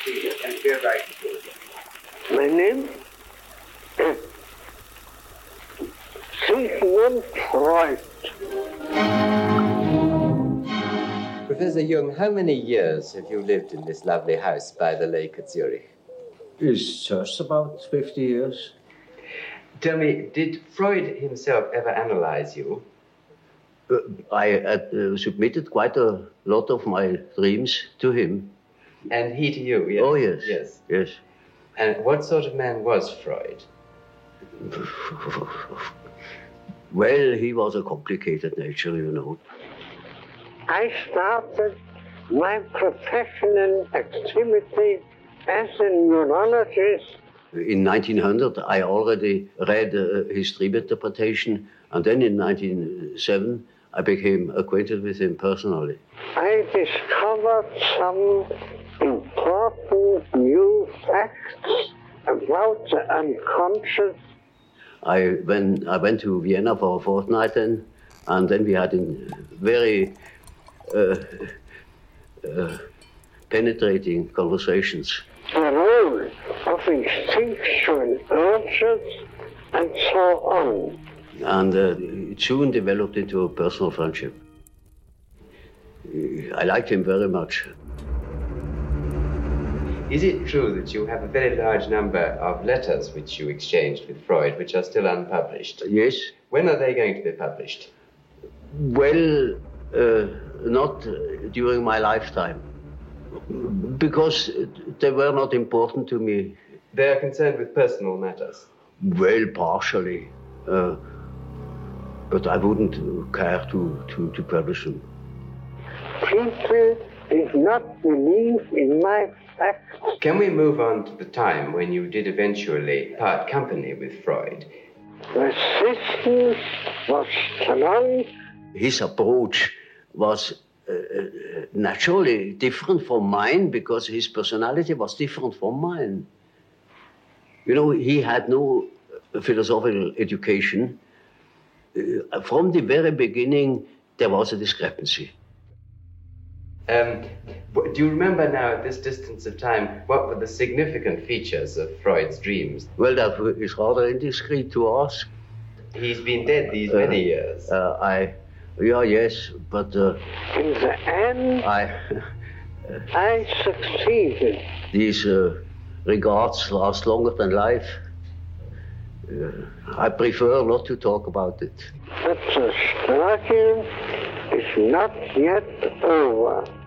My name? Sigmund Freud. Professor Jung, how many years have you lived in this lovely house by the lake at Zurich? It's just about 50 years. Tell me, did Freud himself ever analyze you? I submitted quite a lot of my dreams to him. And he to you, yes? Oh, yes. Yes. Yes. And what sort of man was Freud? Well, he was a complicated nature, you know. I started my professional activity as a neurologist. In 1900, I already read his dream interpretation, and then in 1907, I became acquainted with him personally. I discovered some important new facts about the unconscious. I went to Vienna for a fortnight then, and then we had very penetrating conversations. The role of instinctual urges and so on. And it soon developed into a personal friendship. I liked him very much. Is it true that you have a very large number of letters which you exchanged with Freud, which are still unpublished? Yes. When are they going to be published? Well, not during my lifetime, because they were not important to me. They are concerned with personal matters? Well, partially. But I wouldn't care to publish them. People did not believe in my facts. Can we move on to the time when you did eventually part company with Freud? Resistance was strong. His approach was naturally different from mine because his personality was different from mine. You know, he had no philosophical education. From the very beginning, there was a discrepancy. Do you remember now, at this distance of time, what were the significant features of Freud's dreams? Well, that is rather indiscreet to ask. He's been dead these many years. Yes, but... in the end, I succeeded. These regards last longer than life. I prefer not to talk about it. But the struggle is not yet over.